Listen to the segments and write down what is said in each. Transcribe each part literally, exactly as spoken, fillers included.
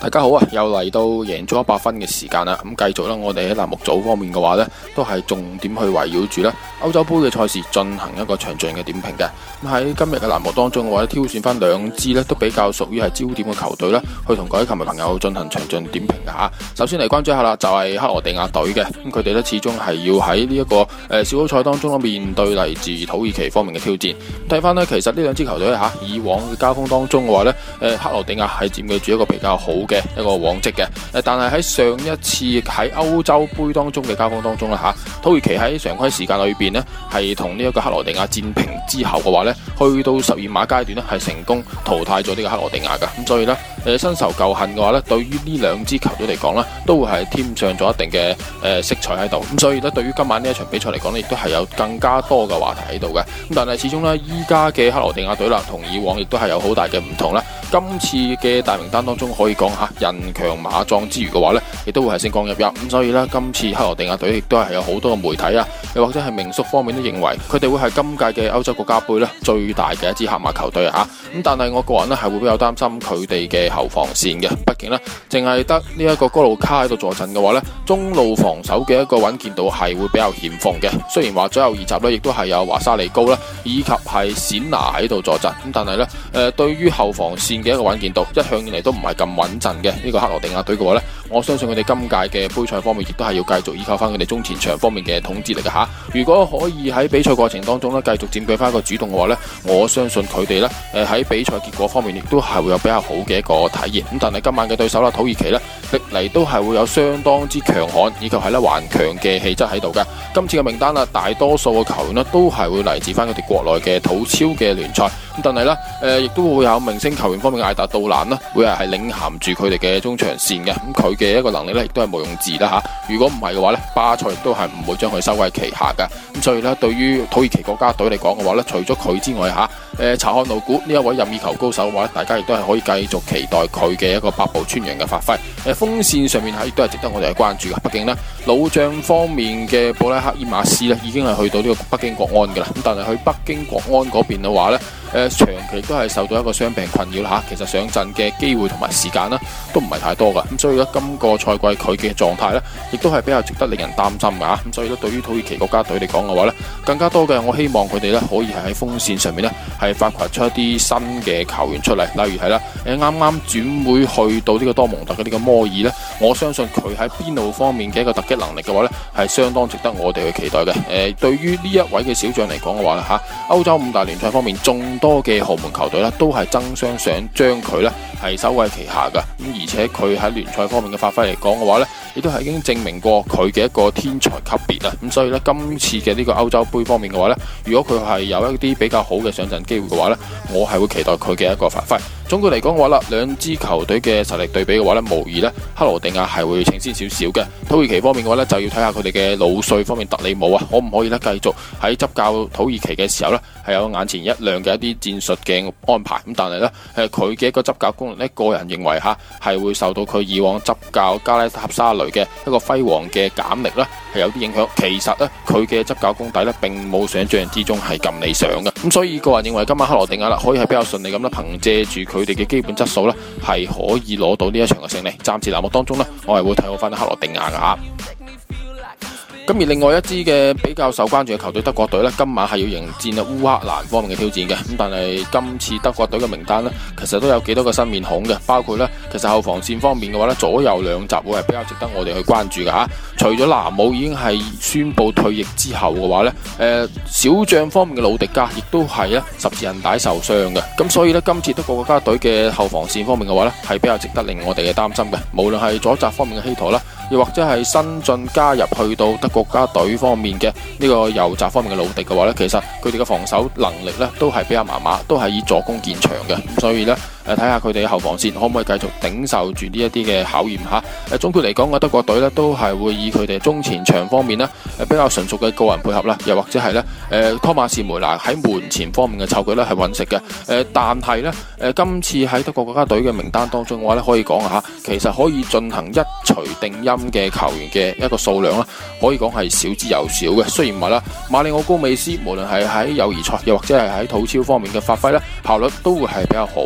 大家好啊！又嚟到贏足一百分嘅時間啦，咁繼續啦，我哋喺欄目組方面嘅話呢，都係重點去圍繞住咧歐洲杯嘅賽事進行一個詳盡嘅點評嘅。咁喺今日嘅欄目當中嘅話咧，挑選翻兩支呢都比較屬於係焦點嘅球隊啦，去同各位球迷朋友進行詳盡點評嘅吓。首先嚟關注一下啦，就係克羅地亞隊嘅，咁佢哋呢始終係要喺呢一個誒小組賽當中面對嚟自土耳其方面嘅挑戰。睇翻呢，其實呢兩支球隊吓以往嘅交鋒當中嘅話呢，誒克羅地亞係佔據住一個比較好嘅一個往績嘅，誒，但係喺上一次喺歐洲杯當中嘅交鋒當中啦吓，土耳其喺常規時間裏邊呢係同呢一個克羅地亞戰平之後嘅話呢，去到十二碼階段呢係成功淘汰咗呢個克羅地亞噶，咁所以呢，誒新仇舊恨嘅話呢，對於呢兩支球隊嚟講呢，都會係添上咗一定嘅誒色彩喺度，咁所以呢，對於今晚呢一場比賽嚟講呢，亦都係有更加多嘅話題喺度嘅，咁但係始終呢，依家嘅克羅地亞隊啦，同以往亦都係有好大嘅唔同啦。今次嘅大名單當中可以講下人強馬壯之餘嘅話呢，亦都會係星光熠熠，咁所以呢，今次克羅地亞隊亦都係有好多嘅媒體啊，又或者係名宿方面都認為佢哋會係今屆嘅歐洲國家杯呢最大嘅一支黑馬球隊啊，咁但係我個人呢係會比較擔心佢哋嘅後防線嘅，畢竟呢，淨係得呢一個哥路卡喺度坐鎮嘅話呢，中路防守嘅一個穩健度係會比較欠奉嘅。雖然話左右二閘呢亦都係有華沙利高啦，以及係冼拿喺度坐鎮，咁但係呢，誒、呃、對於後防線嘅一個穩健度一向以嚟都唔係咁穩陣嘅呢個克羅地亞隊嘅話呢，我相信佢哋今屆嘅杯賽方面亦都係要繼續依靠翻佢哋中前場方面嘅統治力嘅吓。如果可以喺比賽過程當中呢繼續佔據翻一個主動嘅話呢，我相信佢哋呢誒喺比賽結果方面亦都係會有比較好嘅一個體驗。咁但係今晚嘅對手啦，土耳其呢歷嚟都係會有相當之強悍以及係咧頑強嘅氣質喺度嘅。今次嘅名單啦，大多數嘅球員呢都係會嚟自翻佢哋國內嘅土超嘅聯賽。咁但係咧，誒、呃，亦都會有明星球員方面嘅艾達杜蘭啦，會係係領銜住佢哋嘅中場線嘅。咁佢嘅一個能力咧，亦都係毋庸置疑啦吓。如果唔係嘅話咧，巴塞亦都係唔會將佢收喺旗下噶。咁所以咧，對於土耳其國家隊嚟講嘅話咧，除咗佢之外吓，誒、呃，查漢努古呢一位任意球高手嘅話咧，大家亦都係可以繼續期待佢嘅一個百步穿楊嘅發揮。誒、呃，鋒線上面係亦都係值得我哋去關注嘅。畢竟呢，老將方面嘅布拉克伊馬斯咧，已經係去到呢個北京國安噶啦。咁但係去北京國安嗰邊嘅話咧，誒，長期都係受到一個傷病困擾啦吓，其實上陣嘅機會同埋時間啦，都唔係太多噶，咁所以咧今個賽季佢嘅狀態咧，亦都係比較值得令人擔心噶吓，咁所以咧對於土耳其國家隊嚟講嘅話咧，更加多嘅我希望佢哋咧可以係喺鋒線上面咧係發掘出一啲新嘅球員出嚟，例如係啦，誒啱啱轉會去到呢個多蒙特嘅呢個摩爾咧，我相信佢喺邊路方面嘅一個突擊能力嘅話咧，係相當值得我哋去期待嘅。誒，對於呢一位嘅小將嚟講嘅話咧吓，歐洲五大聯賽方面眾多嘅豪門球隊咧，都係爭相想將佢咧係收喺旗下噶。咁而且佢喺聯賽方面嘅發揮嚟講嘅話咧，亦都係已經證明過佢嘅一個天才級別啦。咁所以咧，今次嘅呢個歐洲杯方面嘅話咧，如果佢係有一啲比較好嘅上陣機會嘅話咧，我係會期待佢嘅一個發揮。總括嚟講嘅話啦，兩支球隊嘅實力對比嘅話咧，無疑咧克羅地亞係會領先少少嘅。土耳其方面嘅話咧，就要睇下佢哋嘅老帥方面特里姆啊，可唔可以咧繼續喺執教土耳其嘅時候咧，係有眼前一亮嘅一啲戰術嘅安排。咁但係咧，誒佢嘅一個執教功能咧，個人認為吓係會受到佢以往執教加拉塔沙雷嘅一個輝煌嘅減力啦，係有啲影響。其實咧，佢嘅執教功底咧，並冇想象之中係咁理想嘅。咁所以個人認為今晚克羅地亞啦，可以係比較順利咁啦，憑借住佢哋嘅基本質素咧，係可以攞到呢一場嘅勝利。暫時欄目當中咧，我係會睇好翻克羅地亞噶。咁而另外一支嘅比較受關注嘅球隊德國隊呢，今晚係要迎戰啊烏克蘭方面嘅挑戰嘅。咁但係今次德國隊嘅名單呢，其實都有幾多個新面孔嘅，包括呢，其實後防線方面嘅話呢，左右兩閘會係比較值得我哋去關注嘅吓。除咗拿姆已經係宣布退役之後嘅話呢，誒、呃、小將方面嘅魯迪加亦都係咧十字韌帶受傷嘅。咁所以呢，今次德國國家隊嘅後防線方面嘅話呢，係比較值得令我哋嘅擔心嘅。無論係左閘方面嘅希陀啦，又或者係新進加入去到德國家隊方面嘅呢個右閘方面嘅魯迪嘅話呢，其實佢哋嘅防守能力呢都係比較麻麻，都係以助攻見長嘅。咁所以呢，誒睇下佢哋嘅後防線可唔可以繼續頂受住呢一啲嘅考驗吓。誒總括嚟講，個德國隊呢都係會以佢哋中前場方面呢誒比較純熟嘅個人配合啦，又或者係呢誒托馬士梅拿喺門前方面嘅湊腳呢係穩食嘅。誒但係呢，誒今次喺德國國家隊嘅名單當中嘅話呢，可以講下，其實可以進行一錘定音嘅球員嘅一個數量啦，可以講係少之又少嘅。雖然話啦，馬里奧高美斯無論係喺友誼賽又或者係喺土超方面嘅發揮呢，效率都會係比較好。咁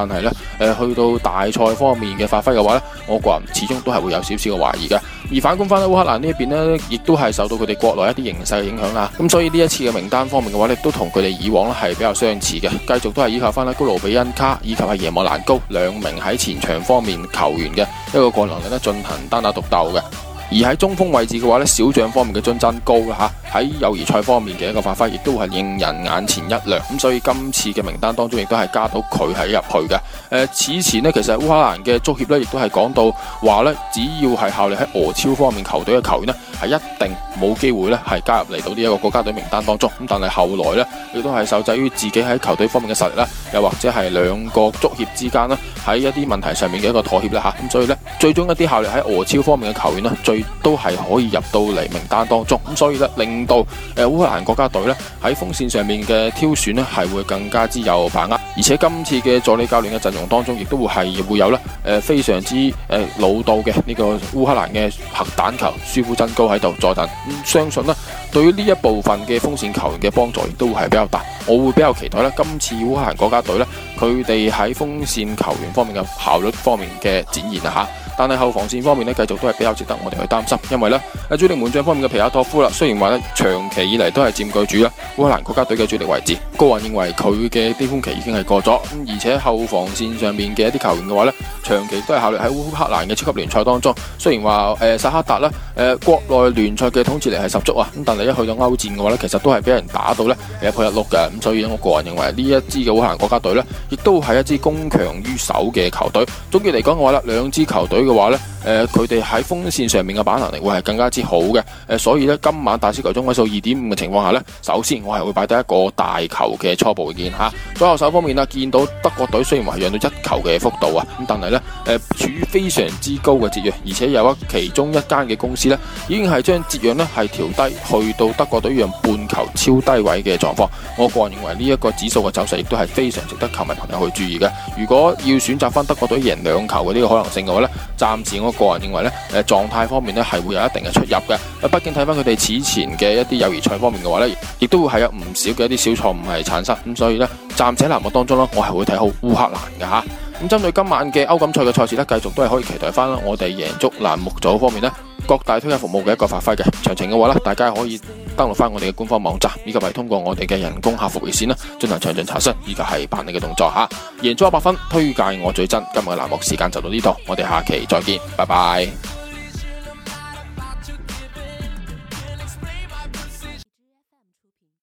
但係呢，誒、呃、去到大賽方面嘅發揮嘅話呢，我個人始終都係會有少少嘅懷疑嘅。而反觀翻咧烏克蘭呢一邊呢，亦都係受到佢哋國內一啲形勢嘅影響啦。咁所以呢一次嘅名單方面嘅話呢，都同佢哋以往咧係比較相似嘅，繼續都係依靠翻咧高盧比恩卡以及係耶莫蘭高兩名喺前場方面球員嘅一個個人能力咧進行單打獨鬥嘅。而喺中鋒位置嘅話咧，小將方面嘅津真高啦吓，喺友誼賽方面嘅一個發揮，亦都係令人眼前一亮。咁所以今次嘅名單當中，亦都係加到佢喺入去嘅。誒、呃，此前呢，其實烏克蘭嘅足協咧，亦都係講到話咧，只要係效力喺俄超方面球隊嘅球員呢，係一定冇機會咧係加入嚟到呢一個國家隊名單當中。咁但係後來咧，亦都係受制於自己喺球隊方面嘅實力啦，又或者係兩個足協之間呢，喺一啲問題上面嘅一個妥協啦吓。咁所以咧，最終一啲效力喺俄超方面嘅球員呢，最都係可以入到嚟名單當中，咁所以咧令到誒烏克蘭國家隊咧喺鋒線上面嘅挑選咧係會更加之有把握，而且今次嘅助理教練嘅陣容當中，亦都會係會有咧誒非常之誒老道嘅呢個烏克蘭嘅核彈球舒夫真高喺度坐鎮，咁相信咧對於呢一部分嘅鋒線球員嘅幫助亦都會係比較大，我會比較期待咧今次烏克蘭國家隊咧佢哋喺鋒線球員方面嘅效率方面嘅展現啊吓。但係後防線方面咧，繼續都係比較值得我哋去擔心，因為咧，喺主力門將方面嘅皮亞托夫啦，雖然話咧長期以嚟都係佔據住啦烏克蘭國家隊嘅主力位置，個人認為佢嘅巔峰期已經係過咗，咁而且後防線上面嘅一啲球員嘅話咧，長期都係效力喺烏克蘭嘅超級聯賽當中，雖然話誒薩克達啦，誒、呃、國內聯賽嘅統治力係十足啊，咁但係一去到歐戰嘅話咧，其實都係俾人打到咧一鋪一碌嘅，咁所以我個人認為呢一支嘅烏克蘭國家隊咧，亦都係一支攻強於守嘅球隊。總結嚟講嘅話咧，兩支球隊嘅話咧，誒佢哋喺鋒線上面嘅把握能力會係更加之好嘅，誒、呃、所以咧今晚大小球中位數二點五嘅情況下咧，首先我係會擺低一個大球嘅初步意見吓。左右手方面啦，見到德國隊雖然話係讓到一球嘅幅度啊，咁但係咧誒處於非常之高嘅折讓，而且有一其中一間嘅公司咧已經係將折讓咧係調低去到德國隊讓半球超低位嘅狀況。我個人認為呢一個指數嘅走勢亦都係非常值得球迷朋友去注意嘅。如果要選擇翻德國隊贏兩球嘅呢個可能性嘅話咧，暫時我個人認為咧，誒狀態方面咧係會有一定嘅出入嘅。畢竟睇翻佢哋此前嘅一啲友誼賽方面嘅話咧，亦都會係有唔少嘅一啲小錯誤係產生。咁所以咧，暫且欄目當中咧，我係會睇好烏克蘭嘅吓。咁針對今晚嘅歐錦賽嘅賽事咧，繼續都係可以期待翻我哋贏足欄目組方面咧各大推介服務嘅一個發揮嘅。詳情嘅話咧，大家可以登錄翻我哋嘅官方網站，以及係通過我哋嘅人工客服熱線啦，進行詳盡查詢，以及係辦理嘅動作吓。贏足一百分，推介我最真。今日嘅欄目時間就到呢度，我哋下期再見，拜拜。